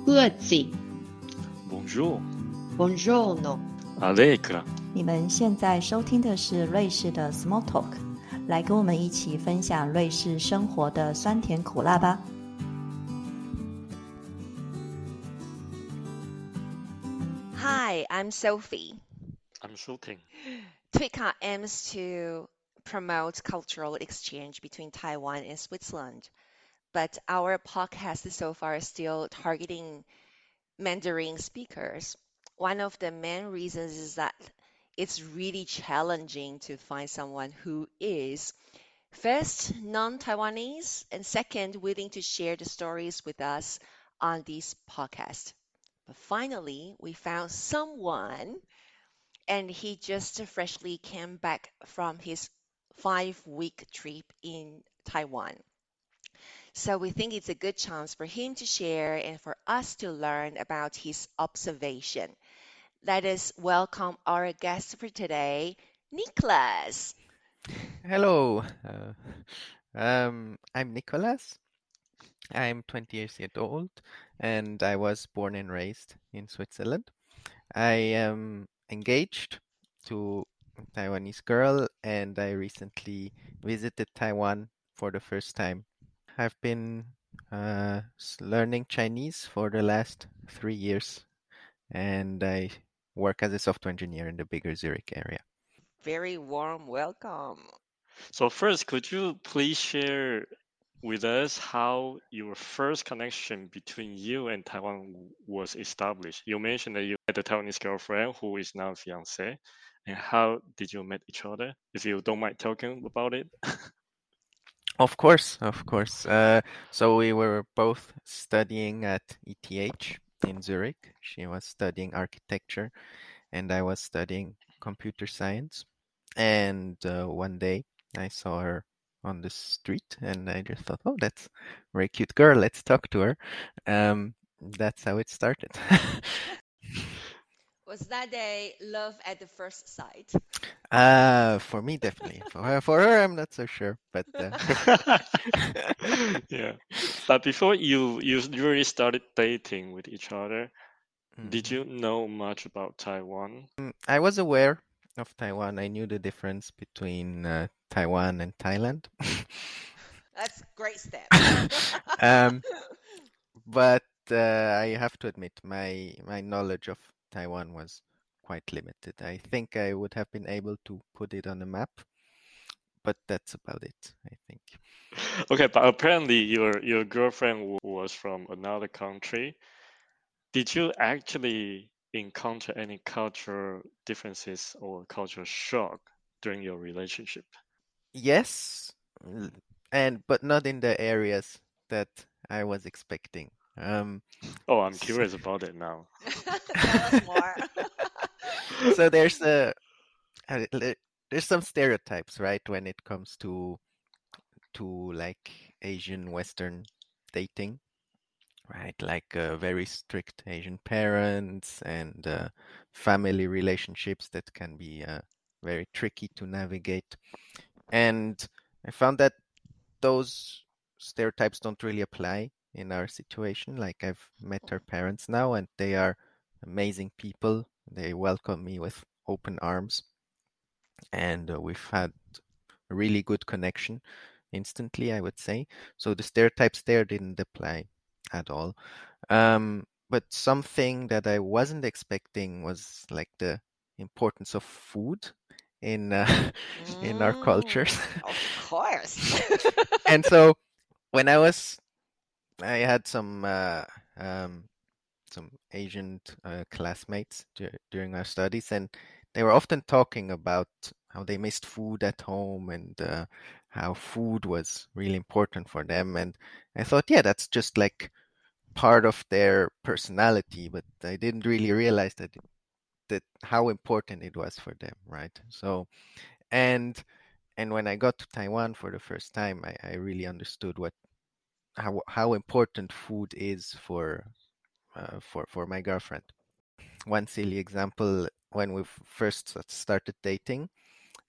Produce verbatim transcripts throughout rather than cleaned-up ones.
Grüezi. Bonjour. Buongiorno. Allegra. 你们现在收听的是瑞士的 Small Talk， 来跟我们一起分享瑞士生活的酸甜苦辣吧。 Hi, I'm Sophie. I'm shooting. Twika aims to promote cultural exchange between Taiwan and Switzerland, but our podcast so far is still targeting Mandarin speakers. One of the main reasons is that it's really challenging to find someone who is, first, non-Taiwanese, and second, willing to share the stories with us on this podcast. But finally, we found someone, and he just freshly came back from his five-week trip in Taiwan. So we think it's a good chance for him to share and for us to learn about his observation. Let us welcome our guest for today, Nicholas. Hello, uh, um, I'm Nicholas. I'm twenty years old and I was born and raised in Switzerland. I am engaged to a Taiwanese girl and I recently visited Taiwan for the first time. I've been uh, learning Chinese for the last three years and I work as a software engineer in the bigger Zurich area. Very warm welcome. So first, could you please share with us how your first connection between you and Taiwan was established? You mentioned that you had a Taiwanese girlfriend who is now fiancé. And how did you meet each other? If you don't mind talking about it. Of course, of course. Uh, so we were both studying at E T H in Zurich. She was studying architecture and I was studying computer science. And uh, one day I saw her on the street and I just thought, oh, that's a very cute girl. Let's talk to her. Um, that's how it started. Was that a love at the first sight? Uh, for me, definitely. For her, for her, I'm not so sure. But uh... yeah. But before you you really started dating with each other, mm-hmm. Did you know much about Taiwan? I was aware of Taiwan. I knew the difference between uh, Taiwan and Thailand. That's a great step. um, but uh, I have to admit, my my knowledge of Taiwan was quite limited. I think I would have been able to put it on a map, but that's about it, I think. Okay, but apparently your your girlfriend was from another country. Did you actually encounter any cultural differences or cultural shock during your relationship? Yes, and but not in the areas that I was expecting. Um, oh, I'm curious about it now. Tell us more. So there's a, a there's some stereotypes, right, when it comes to to like Asian Western dating, right? Like uh, very strict Asian parents and uh, family relationships that can be uh, very tricky to navigate. And I found that those stereotypes don't really apply in our situation. Like I've met her parents now and they are amazing people. They welcome me with open arms. And uh, we've had a really good connection instantly, I would say. So the stereotypes there didn't apply at all. Um, but something that I wasn't expecting was like the importance of food in uh, mm, in our cultures. Of course. And so when I was, I had some uh, um, some Asian uh, classmates d- during our studies, and they were often talking about how they missed food at home and uh, how food was really important for them. And I thought, yeah, that's just like part of their personality, but I didn't really realize that that how important it was for them, right? So, and and when I got to Taiwan for the first time, I, I really understood what how how important food is for uh, for for my girlfriend. One silly example: when we first started dating,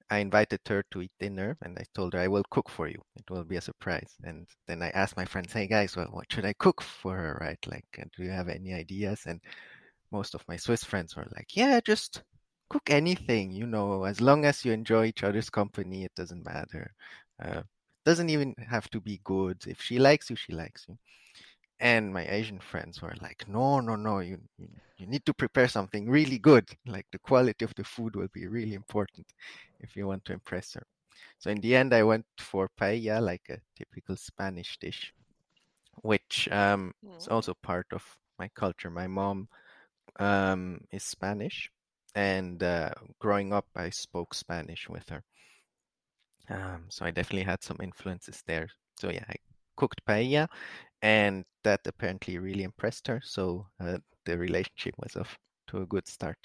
I invited her to eat dinner, and I told her I will cook for you. It will be a surprise. And then I asked my friends, "Hey guys, well, what should I cook for her, right? Like, uh, do you have any ideas?" And most of my Swiss friends were like, "Yeah, just cook anything, you know, as long as you enjoy each other's company, it doesn't matter. Uh, doesn't even have to be good. If she likes you, she likes you." And my Asian friends were like, "No, no, no, you, you you need to prepare something really good. Like the quality of the food will be really important if you want to impress her." So in the end, I went for paella, like a typical Spanish dish, which um, is Mm. also part of my culture. My mom um, is Spanish, and uh, growing up, I spoke Spanish with her. Um, so I definitely had some influences there. So yeah, I cooked paella, and that apparently really impressed her. So uh, the relationship was off to a good start.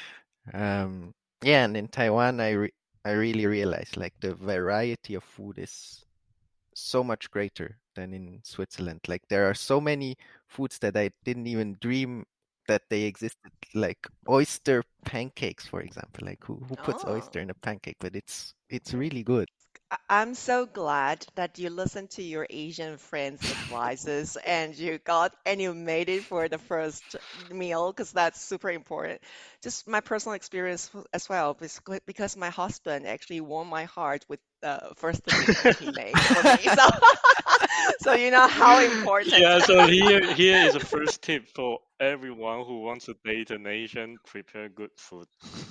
Um, yeah, and in Taiwan, I re- I really realized like the variety of food is so much greater than in Switzerland. Like there are so many foods that I didn't even dream that they existed, like oyster pancakes, for example. Like who who puts Oh. oyster in a pancake? But it's it's really good. I- I'm so glad that you listened to your Asian friends' advices and you got and you made it for the first meal because that's super important. Just my personal experience w- as well, basically, because my husband actually won my heart with the first dish that he made for me. So, so you know how important. Yeah, so here here is a first tip for everyone who wants to date an Asian: prepare good food.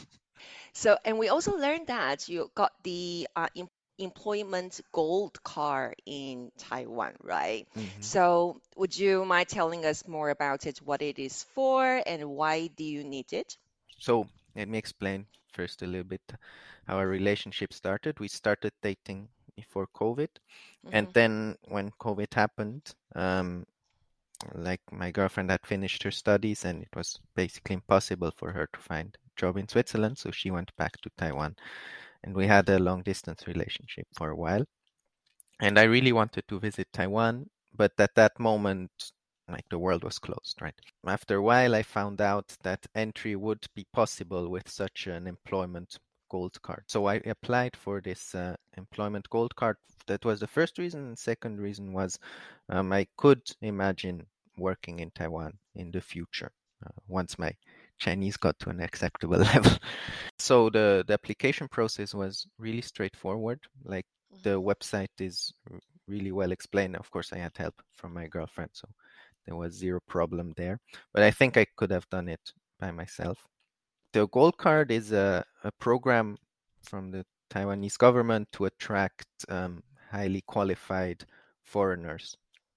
So, and we also learned that you got the uh, em employment gold card in Taiwan, right? hmm So, would you mind telling us more about it, what it is for, and why do you need it? So let me explain first a little bit how our relationship started. We started dating before COVID, and Mm-hmm. then when COVID happened, um, like my girlfriend had finished her studies, and it was basically impossible for her to find a job in Switzerland, so she went back to Taiwan, and we had a long distance relationship for a while. And I really wanted to visit Taiwan, but at that moment, like the world was closed, right? After a while, I found out that entry would be possible with such an employment gold card. So I applied for this uh, employment gold card. That was the first reason. And second reason was um, I could imagine working in Taiwan in the future uh, once my Chinese got to an acceptable level. So the, the application process was really straightforward. Like the Mm-hmm. website is r- really well explained. Of course, I had help from my girlfriend, so there was zero problem there. But I think I could have done it by myself. The Gold Card is a, a program from the Taiwanese government to attract um, highly qualified foreigners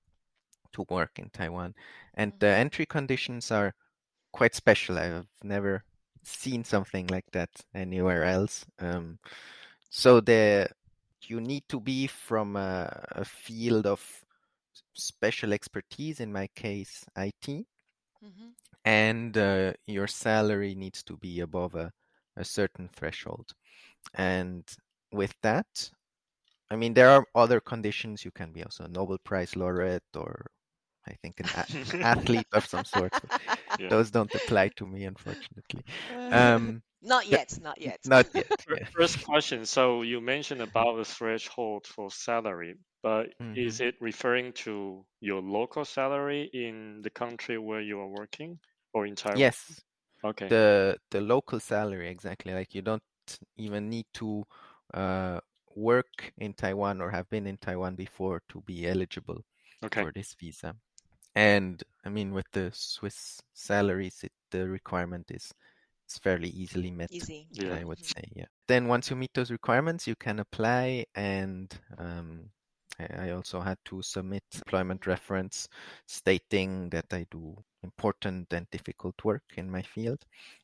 to work in Taiwan. And the Mm-hmm. entry conditions are quite special. I've never seen something like that anywhere else. Um, so the you need to be from a, a field of special expertise, in my case, I T, Mm-hmm. and uh, your salary needs to be above a, a certain threshold. And with that, I mean, there are other conditions. You can be also a Nobel Prize laureate or I think an, a- an athlete of some sort. But Yeah. those don't apply to me, unfortunately. Uh, Um, Not but yet, not yet. not yet. Fir- Yeah. First question. So you mentioned about the threshold for salary, but hmm is it referring to your local salary in the country where you are working or in Taiwan? Yes, Okay. the the local salary exactly. Like you don't even need to uh, work in Taiwan or have been in Taiwan before to be eligible Okay. for this visa. And I mean, with the Swiss salaries, it, the requirement is it's fairly easily met, Easy. Yeah. I would Mm-hmm. say. Yeah. Then once you meet those requirements, you can apply, and um, I, I also had to submit employment reference stating that I do important and difficult work in my field.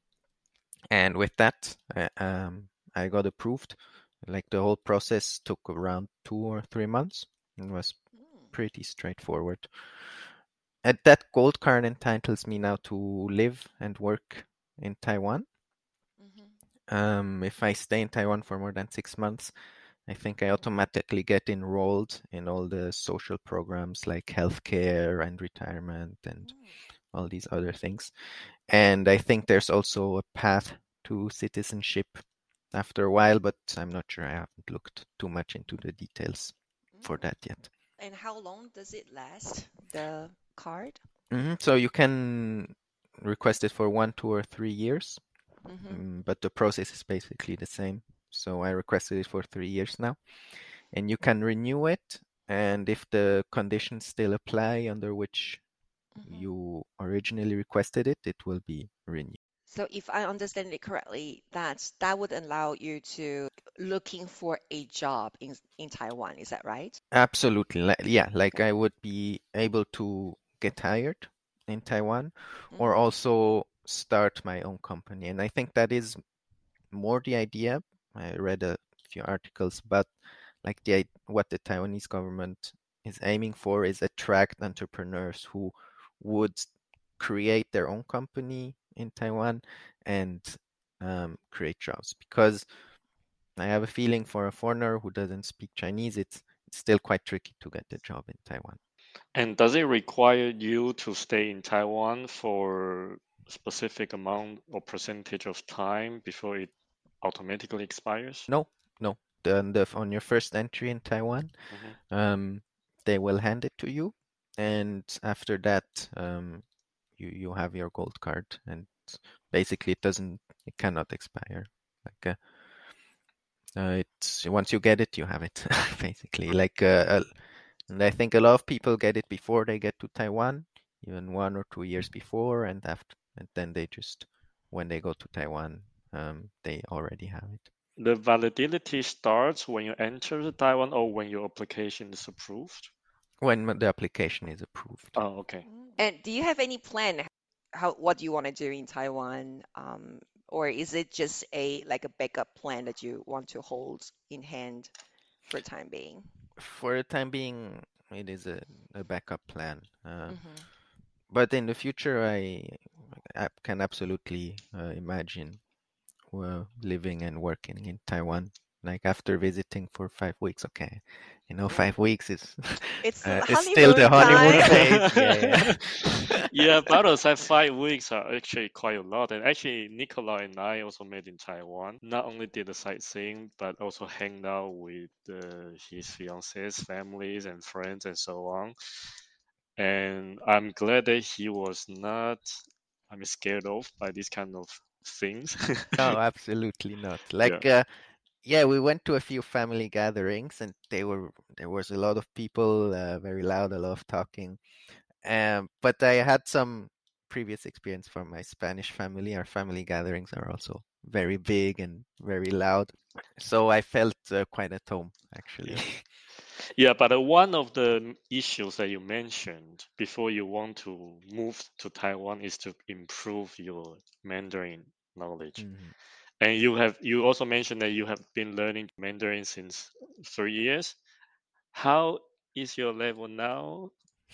And with that, I, um, I got approved. Like the whole process took around two or three months and was Mm. pretty straightforward. And that gold card entitles me now to live and work in Taiwan. Mm-hmm. Um, if I stay in Taiwan for more than six months, I think I automatically get enrolled in all the social programs like healthcare and retirement and Mm. all these other things. And I think there's also a path to citizenship after a while, but I'm not sure. I haven't looked too much into the details for Mm. that yet. And how long does it last, the card? hmm So you can request it for one, two, or three years, Mm-hmm. mm, but the process is basically the same. So I requested it for three years now, and you can renew it. And if the conditions still apply under which Mm-hmm. you originally requested it, it will be renewed. So if I understand it correctly, that's that would allow you to looking for a job in in Taiwan. Is that right? Absolutely. Li- Yeah, like Okay. I would be able to get hired in Taiwan or Mm-hmm. also start my own company. And I think that is more the idea. I read a few articles, but like the i- what the Taiwanese government is aiming for is attract entrepreneurs who would create their own company in Taiwan and um, create jobs. Because I have a feeling for a foreigner who doesn't speak Chinese, it's it's still quite tricky to get a job in Taiwan. And does it require you to stay in Taiwan for a specific amount or percentage of time before it automatically expires? No, no. The, the on your first entry in Taiwan, hmm um, they will hand it to you, and after that, um, you you have your gold card, and basically it doesn't, it cannot expire. Like uh, uh, it's once you get it, you have it, basically. Like uh, uh, and I think a lot of people get it before they get to Taiwan, even one or two years before, and after, and then they just, when they go to Taiwan, um, they already have it. The validity starts when you enter Taiwan or when your application is approved? When the application is approved. Oh, okay. Mm. And do you have any plan how what do you want to do in Taiwan? Um, or is it just a like a backup plan that you want to hold in hand for time being? For the time being, it is a, a backup plan. Uh, Mm-hmm. but in the future, I, I can absolutely uh, imagine uh, living and working in Taiwan. Like after visiting for five weeks, okay, you know, Mm. five weeks is It's uh, is still the honeymoon honeymoon time. phase. Yeah, yeah. Yeah, but outside five weeks are actually quite a lot. And actually, Nicola and I also met in Taiwan. Not only did the sightseeing, but also hanged out with uh, his fiance's families and friends and so on. And I'm glad that he was not, I mean, scared off by these kind of things. No, absolutely not. Yeah. Like, uh, yeah, we went to a few family gatherings, and they were there was a lot of people, uh, very loud, a lot of talking. Um, but I had some previous experience from my Spanish family. Our family gatherings are also very big and very loud, so I felt uh, quite at home, actually. Yeah. Yeah, but uh, one of the issues that you mentioned before you want to move to Taiwan is to improve your Mandarin knowledge. Mhm. And you have you also mentioned that you have been learning Mandarin since three years. How is your level now?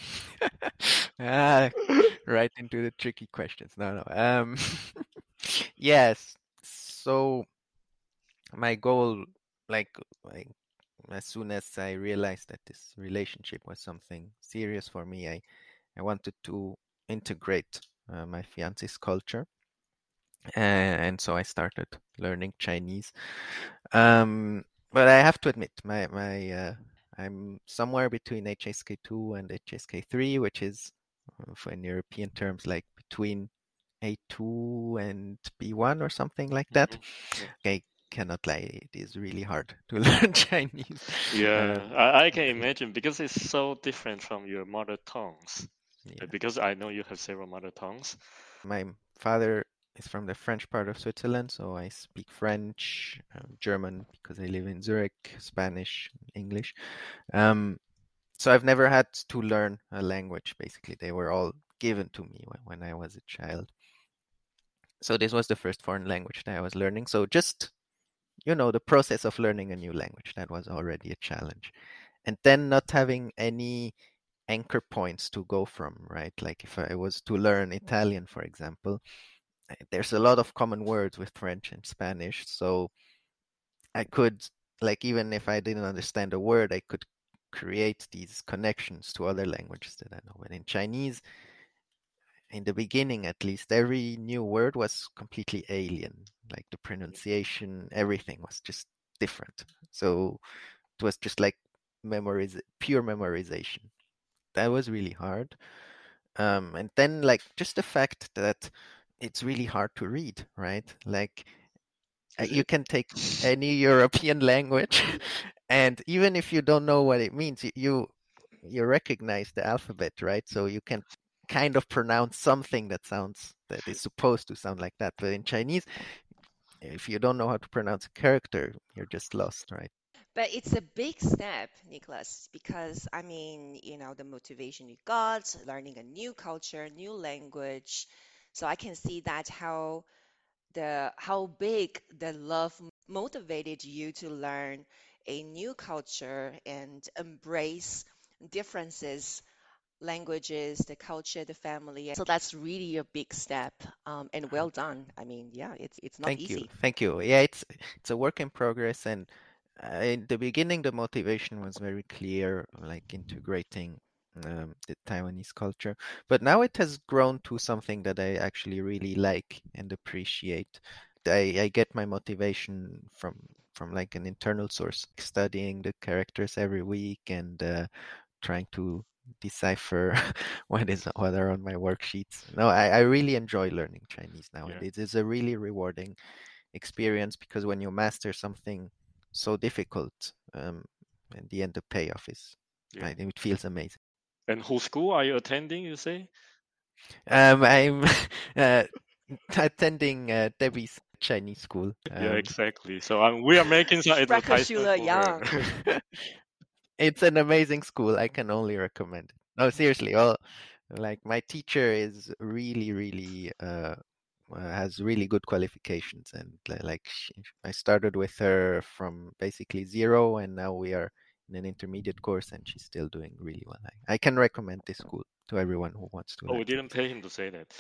Ah, right into the tricky questions. No, no. Um, yes. So my goal, like, like as soon as I realized that this relationship was something serious for me, I, I wanted to integrate uh, my fiance's culture. And, and so I started learning Chinese. Um, but I have to admit, my, my, uh, I'm somewhere between H S K two and H S K three, which is, uh, for in European terms, like between A two and B one or something like that. Mhm. I cannot lie, it is really hard to learn Chinese. Yeah, Um, I, I can imagine because it's so different from your mother tongues. yeah. Because I know you have several mother tongues. My father is from the French part of Switzerland, so I speak French, um, German because I live in Zurich, Spanish, English. Um, so I've never had to learn a language, basically. They were all given to me when, when I was a child. So this was the first foreign language that I was learning. So just, you know, the process of learning a new language, that was already a challenge. And then not having any anchor points to go from, right? Like if I was to learn Italian, for example, there's a lot of common words with French and Spanish. So I could, like, even if I didn't understand a word, I could create these connections to other languages that I know. But in Chinese, in the beginning at least, every new word was completely alien. Like the pronunciation, everything was just different. So it was just like memoriz pure memorization. That was really hard. Um, and then like just the fact that it's really hard to read, right? Like uh, Is you it? can take any European language, and even if you don't know what it means, you you, you recognize the alphabet, right? So you can kind of pronounce something that sounds that is supposed to sound like that. But in Chinese, if you don't know how to pronounce a character, you're just lost, right? But it's a big step, Nicholas, because I mean, you know, the motivation you got, learning a new culture, new language. So I can see that how the how big the love motivated you to learn a new culture and embrace differences, languages, the culture, the family. So that's really a big step, um, and well done. I mean, yeah, it's it's not Thank you, easy. thank you. Yeah, it's it's a work in progress, and uh, in the beginning, the motivation was very clear, like integrating um, the Taiwanese culture. But now it has grown to something that I actually really like and appreciate. I, I get my motivation from from like an internal source, studying the characters every week and uh, trying to decipher what is what are on my worksheets. No, I, I really enjoy learning Chinese now, and Yeah. it is a really rewarding experience because when you master something so difficult, um, in the end the payoff is, Yeah. right, it feels amazing. And whose school are you attending, you say? Um, I'm uh, attending uh, Debbie's Chinese school. Yeah, Um, exactly. So um, we are making some advertisement Sprachschule for her. Young. it's an amazing school. I can only recommend it. No, seriously. Well, like my teacher is really, really uh, uh, has really good qualifications, and li- like she, I started with her from basically zero, and now we are in an intermediate course, and she's still doing really well. I, I can recommend this school to everyone who wants to Oh, we learn didn't pay him to say that.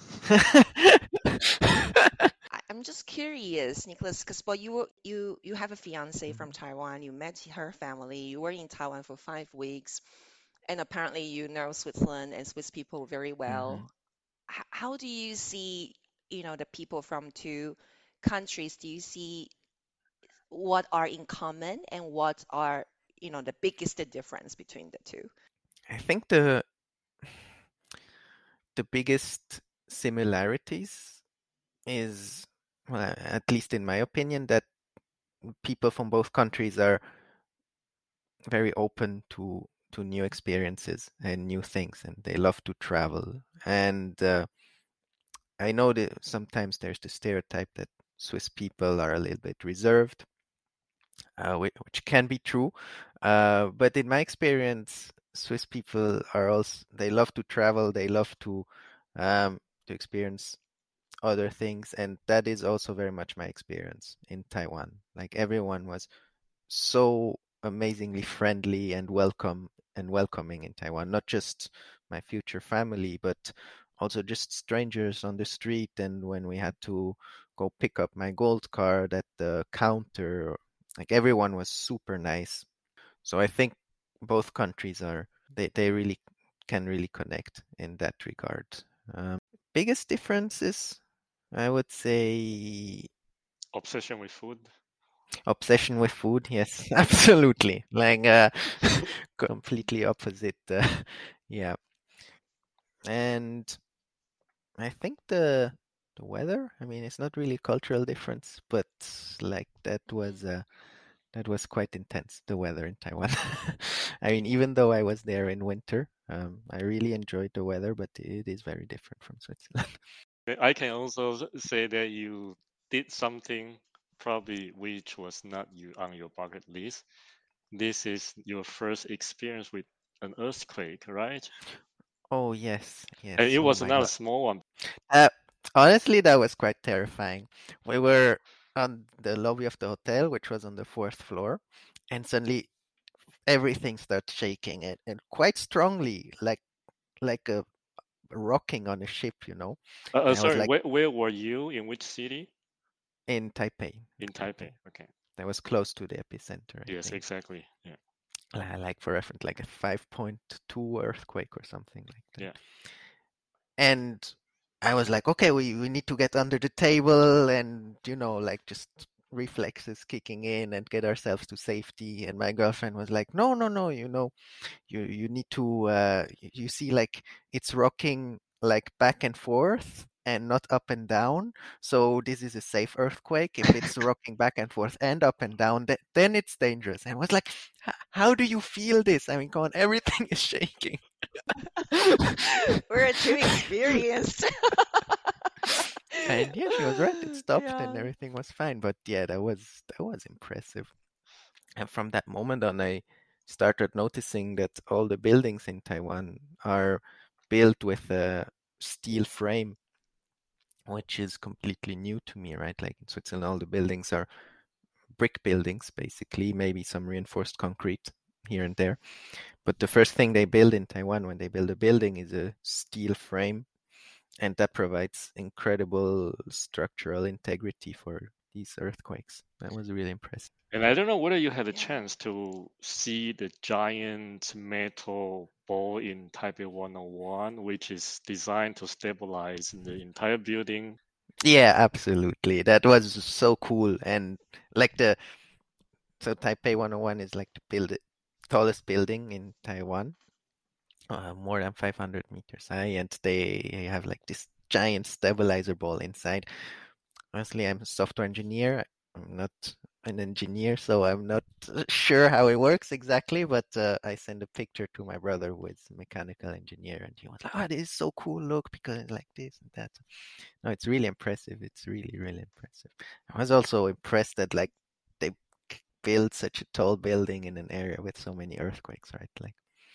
Chinese. I- I'm just curious, Nicholas, because well, you were, you you have a fiance from Taiwan. You met her family. You were in Taiwan for five weeks, and apparently you know Switzerland and Swiss people very hmm well. H- how do you see, you know, the people from two countries? Do you see what are in common and what are, you know, the biggest difference between the two? I think the the biggest similarities is, well, at least in my opinion, that people from both countries are very open to to new experiences and new things, and they love to travel. And uh, I know that sometimes there's the stereotype that Swiss people are a little bit reserved, uh, which, which can be true. Uh, but in my experience, Swiss people are also, they love to travel, they love to um, to experience other things, and that is also very much my experience in Taiwan. Like everyone was so amazingly friendly and welcome and welcoming in Taiwan, not just my future family, but also just strangers on the street. And when we had to go pick up my gold card at the counter, like everyone was super nice. So I think both countries are, they, they really can really connect in that regard. Um, biggest differences, I would say Obsession with food. obsession with food. Yes, absolutely. Like uh, completely opposite. Uh, yeah, and I think the the weather. I mean, it's not really a cultural difference, but like that was uh, that was quite intense. The weather in Taiwan. I mean, even though I was there in winter, um, I really enjoyed the weather, but it is very different from Switzerland. I can also s- say that you did something probably which was not you on your bucket list. This is your first experience with an earthquake, right? Oh yes, And yes. it Oh was my not a God. small one. Uh, honestly, that was quite terrifying. We were on the lobby of the hotel, which was on the fourth floor, and suddenly everything starts shaking and, and quite strongly, like like a rocking on a ship, you know. Uh, uh, And I was sorry, like where, where were you? In which city? in Taipei, In Taipei. Taipei. Okay. That was close to the epicenter, I Yes, think. exactly. Yeah. Li- Like for reference, like a five point two earthquake or something like that. Yeah. and I was like, okay, we, we need to get under the table and, you know, like just reflexes kicking in and get ourselves to safety. And my girlfriend was like, no, no, no, you know, you, you need to, uh, you see like it's rocking like back and forth and not up and down. So this is a safe earthquake. If it's rocking back and forth and up and down, th- then it's dangerous. And I was like, how do you feel this? I mean, come on, everything is shaking. We're too experienced. And yeah, she was right. It stopped Yeah. and everything was fine. But yeah, that was that was impressive. And from that moment on, I started noticing that all the buildings in Taiwan are built with a steel frame, which is completely new to me, right? Like in Switzerland, all the buildings are brick buildings, basically, maybe some reinforced concrete here and there. But the first thing they build in Taiwan when they build a building is a steel frame, and that provides incredible structural integrity for these earthquakes. That was really impressive. And I don't know whether you had a Yeah. chance to see the giant metal ball in Taipei one oh one, which is designed to stabilize the entire building. Yeah, absolutely. That was so cool. And like the so Taipei one oh one is like the build tallest building in Taiwan, uh, more than five hundred meters high, and they have like this giant stabilizer ball inside. Honestly, I'm a software engineer. I'm not an engineer, so I'm not sure how it works exactly, but uh, I sent a picture to my brother who is a mechanical engineer, and he was like, oh, this is so cool, look, because it's like this and that. No, it's really impressive. It's really, really impressive. I was also impressed that like they built such a tall building in an area with so many earthquakes, right? Like,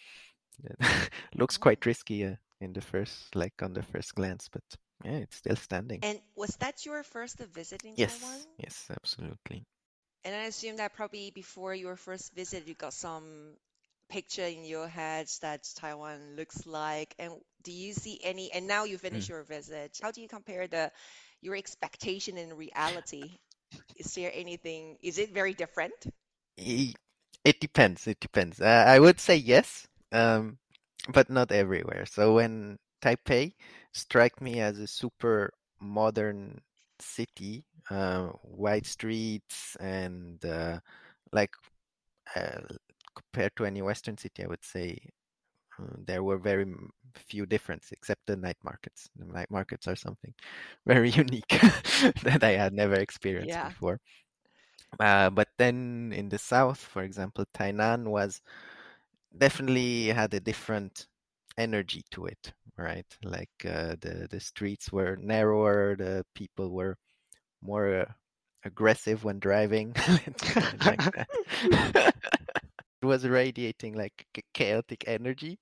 it looks quite risky uh, in the first, like on the first glance, but yeah, it's still standing. And was that your first visit in Taiwan? Yes, yes, absolutely. And I assume that probably before your first visit, you got some picture in your head that Taiwan looks like. And do you see any, and now you finish Mm. your visit, how do you compare the your expectation and reality? Is there anything, is it very different? I- It depends. It depends. Uh, I would say yes, um, but not everywhere. So when Taipei struck me as a super modern city, uh, wide streets and uh, like uh, compared to any Western city, I would say uh, there were very m- few differences, except the night markets. The night markets are something very unique that I had never experienced Yeah. before. Uh, but then in the south, for example, Tainan was definitely had a different energy to it, right? Like uh, the the streets were narrower, the people were more uh, aggressive when driving. Let's call it like that. It was radiating like ch- chaotic energy,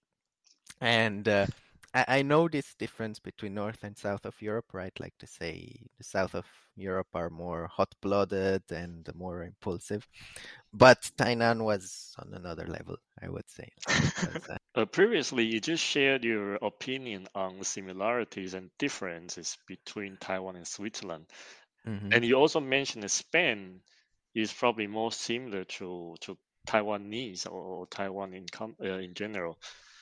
and uh, I, I know this difference between North and South of Europe, right? Like to say the South of Europe are more hot-blooded and more impulsive, but Tainan was on another level, I would say. Like, was, uh, Uh, previously, you just shared your opinion on similarities and differences between Taiwan and Switzerland. mhm. And you also mentioned that Spain is probably more similar to, to Taiwanese or, or Taiwan in, com- uh, in general.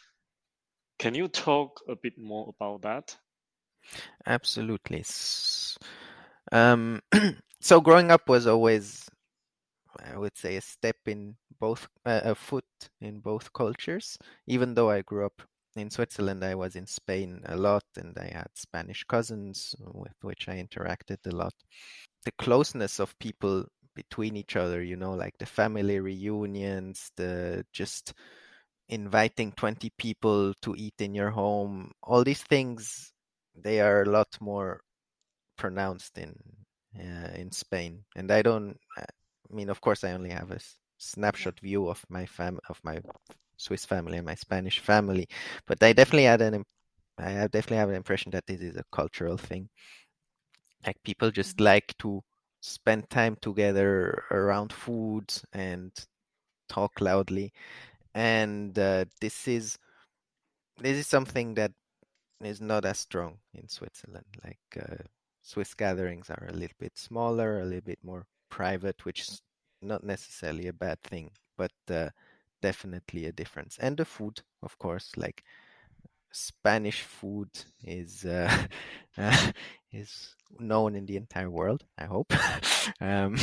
Can you talk a bit more about that? Absolutely. S- Um, so growing up was always, I would say, a step in both, uh, a foot in both cultures. Even though I grew up in Switzerland, I was in Spain a lot, and I had Spanish cousins with which I interacted a lot. The closeness of people between each other, you know, like the family reunions, the just inviting twenty people to eat in your home, all these things, they are a lot more pronounced in uh, in Spain. And I don't, I mean, of course, I only have a s- Yeah. snapshot view of my fam of my Swiss family and my Spanish family, but I definitely had an, im- I have definitely have an impression that this is a cultural thing. Like people just Mhm. like to spend time together around food and talk loudly, and uh, this is this is something that is not as strong in Switzerland. Like uh, Swiss gatherings are a little bit smaller, a little bit more private, which is not necessarily a bad thing, but uh, definitely a difference. And the food, of course, like Spanish food is uh, uh, is known in the entire world, I hope. um,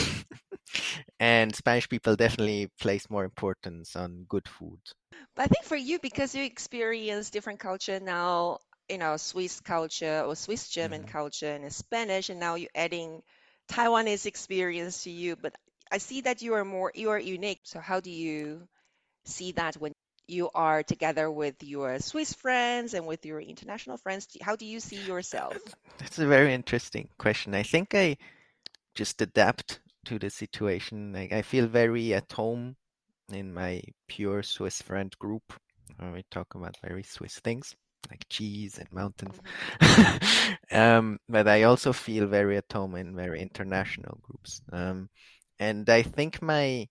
and Spanish people definitely place more importance on good food. But I think for you, because you experience different culture now, you know, Swiss culture or Swiss German Mhm. culture and Spanish, and now you're adding Taiwanese experience to you. But I see that you are more, you are unique. So how do you see that when you are together with your Swiss friends and with your international friends? How do you see yourself? That's a very interesting question. I think I just adapt to the situation. Like I feel very at home in my pure Swiss friend group. When we talk about very Swiss things like cheese and mountains. Mhm. um, but I also feel very at home in very international groups. Um, and I think my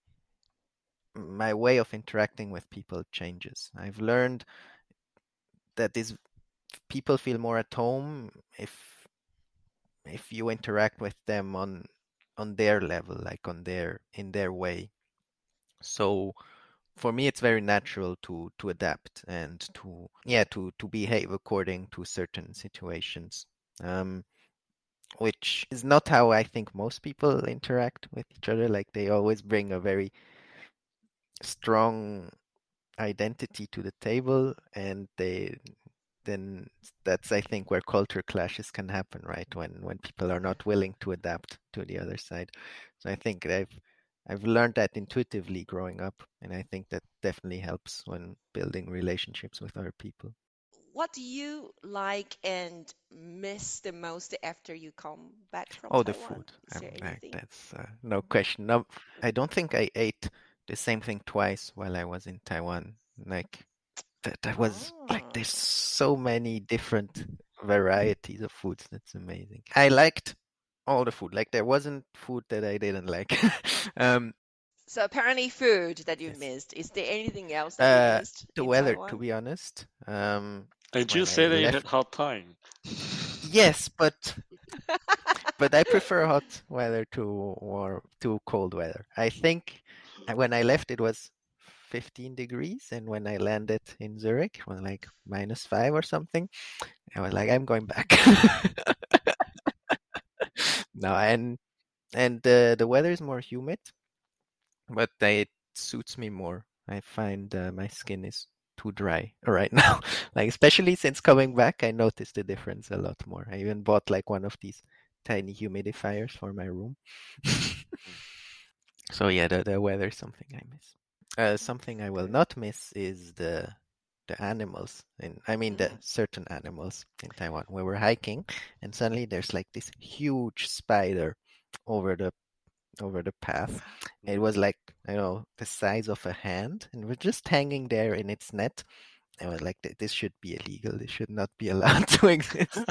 my way of interacting with people changes. I've learned that these people feel more at home if if you interact with them on on their level, like on their in their way. So for me, it's very natural to to adapt and to yeah to to behave according to certain situations, um, which is not how I think most people interact with each other. Like they always bring a very strong identity to the table, and they then that's I think where culture clashes can happen, right? When when people are not willing to adapt to the other side. So I think I've I've learned that intuitively growing up, and I think that definitely helps when building relationships with other people. What do you like and miss the most after you come back from Oh, the Taiwan? food. Is Um, there like anything? that's uh, no question. No, I don't think I ate the same thing twice while I was in Taiwan. Like that, that was like Oh. there's so many different varieties of foods. That's amazing. I liked all the food. Like there wasn't food that I didn't like. um, So apparently food that you yes. missed. Is there anything else that you Uh, missed the in weather, to Taiwan? be honest. Um, Did you when I say that you left, had hard time? yes, but but I prefer hot weather to or to cold weather. I think uh, when I left it was fifteen degrees, and when I landed in Zurich, it was like minus five or something. I was like, I'm going back. No, and and the the weather is more humid, but it suits me more. I find uh, my skin is too dry right now. Like especially since coming back, I noticed the difference a lot more. I even bought like one of these tiny humidifiers for my room. So yeah, the the weather is something I miss. Uh, something I will Good. not miss is the the animals, and I mean the Mm. certain animals in Taiwan. We were hiking, and suddenly there's like this huge spider over the over the path. It was like, I don't know, the size of a hand, and we're just hanging there in its net. I was like, this should be illegal. This should not be allowed to exist.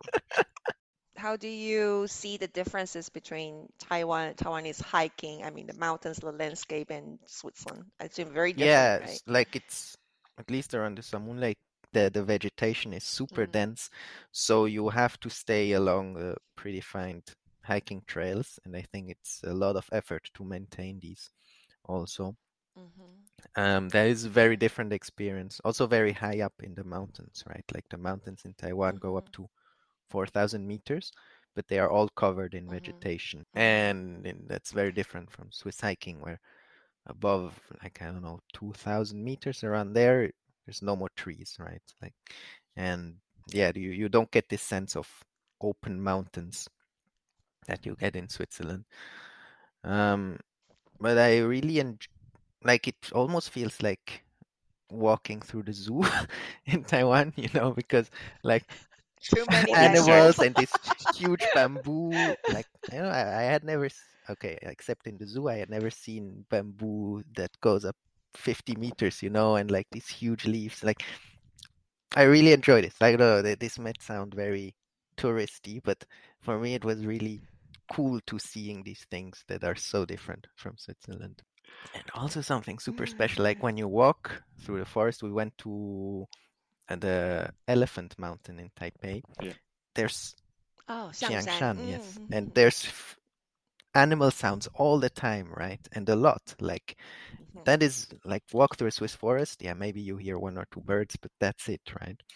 How do you see the differences between Taiwan, Taiwanese hiking, I mean the mountains, the landscape, and Switzerland? I assume very different, Yeah, right? it's like it's at least around the Samun Lake, the the vegetation is super Mm. dense, so you have to stay along uh, predefined hiking trails, and I think it's a lot of effort to maintain these also. Hmm. Um, that is a very different experience. Also very high up in the mountains, right? Like the mountains in Taiwan go up Hmm. to four thousand meters, but they are all covered in Hmm. vegetation. Hmm. And, and that's very different from Swiss hiking, where above, like, I don't know, two thousand meters around there, there's no more trees, right? Like, and yeah, you, you don't get this sense of open mountains that you get in Switzerland. Um, but I really enjoy, like, it almost feels like walking through the zoo in Taiwan, you know, because like Too many animals animals. and this huge bamboo, like you know, I, I had never, s- okay, except in the zoo, I had never seen bamboo that goes up fifty meters, you know, and like these huge leaves. Like I really enjoyed it. Like, no, th- this might sound very touristy, but for me, it was really cool to seeing these things that are so different from Switzerland. And also something super special, like when you walk through the forest, we went to uh, the Elephant Mountain in Taipei. Yeah. There's Oh, Xiangshan. Xiangshan, yes, and Mm-hmm. there's f- animal sounds all the time, right? And a lot. Like that is like walk through a Swiss forest. Yeah, maybe you hear one or two birds, but that's it, right?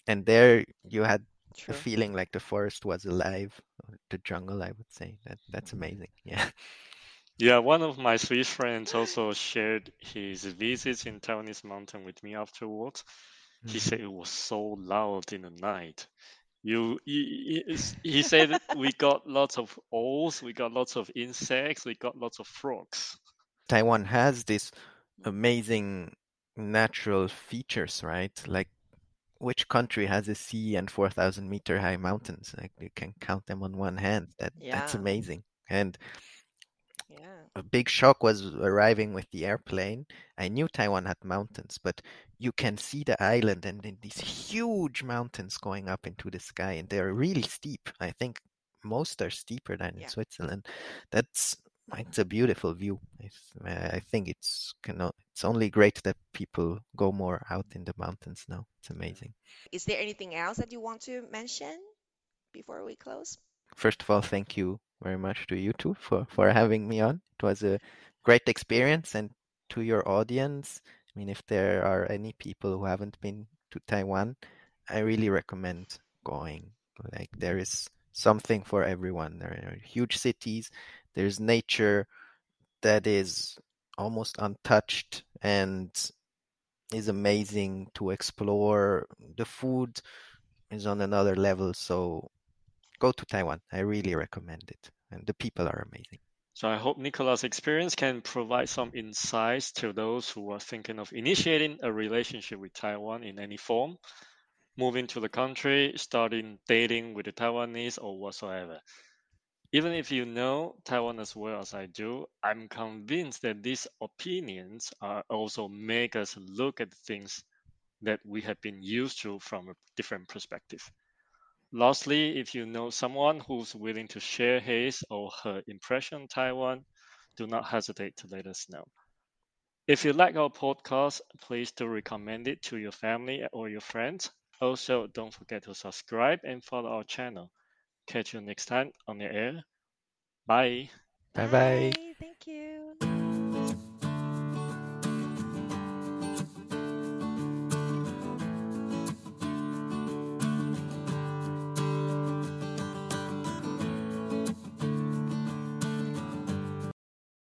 And there you had the True. feeling like the forest was alive, or the jungle, I would say. That that's amazing. Yeah. Yeah, one of my Swiss friends also shared his visits in Taiwanese mountain with me afterwards. He Mhm. said it was so loud in the night. You, he, he he said we got lots of owls, we got lots of insects, we got lots of frogs. Taiwan has this Mm. amazing natural features, right? Like which country has a sea and four thousand meter high mountains? Like you can count them on one hand. That that's Yeah. amazing. And Yeah. a big shock was arriving with the airplane. I knew Taiwan had mountains, but you can see the island and then these huge mountains going up into the sky, and they're really steep. I think most are steeper than in Yeah. Switzerland. That's it's a beautiful view. It's, I think it's cannot, it's only great that people go more out in the mountains now. It's amazing. Is there anything else that you want to mention before we close? First of all, thank you very much to you two for, for having me on. It was a great experience. And to your audience, I mean, if there are any people who haven't been to Taiwan, I really recommend going. Like, there is something for everyone. There are huge cities, there's nature that is almost untouched and is amazing to explore. The food is on another level. So go to Taiwan. I really recommend it. And the people are amazing. So I hope Nicola's experience can provide some insights to those who are thinking of initiating a relationship with Taiwan in any form, moving to the country, starting dating with the Taiwanese or whatsoever. Even if you know Taiwan as well as I do, I'm convinced that these opinions are also make us look at things that we have been used to from a different perspective. Lastly, if you know someone who's willing to share his or her impression on Taiwan, do not hesitate to let us know. If you like our podcast, please do recommend it to your family or your friends. Also, don't forget to subscribe and follow our channel. Catch you next time on the air. Bye. Bye bye. Bye.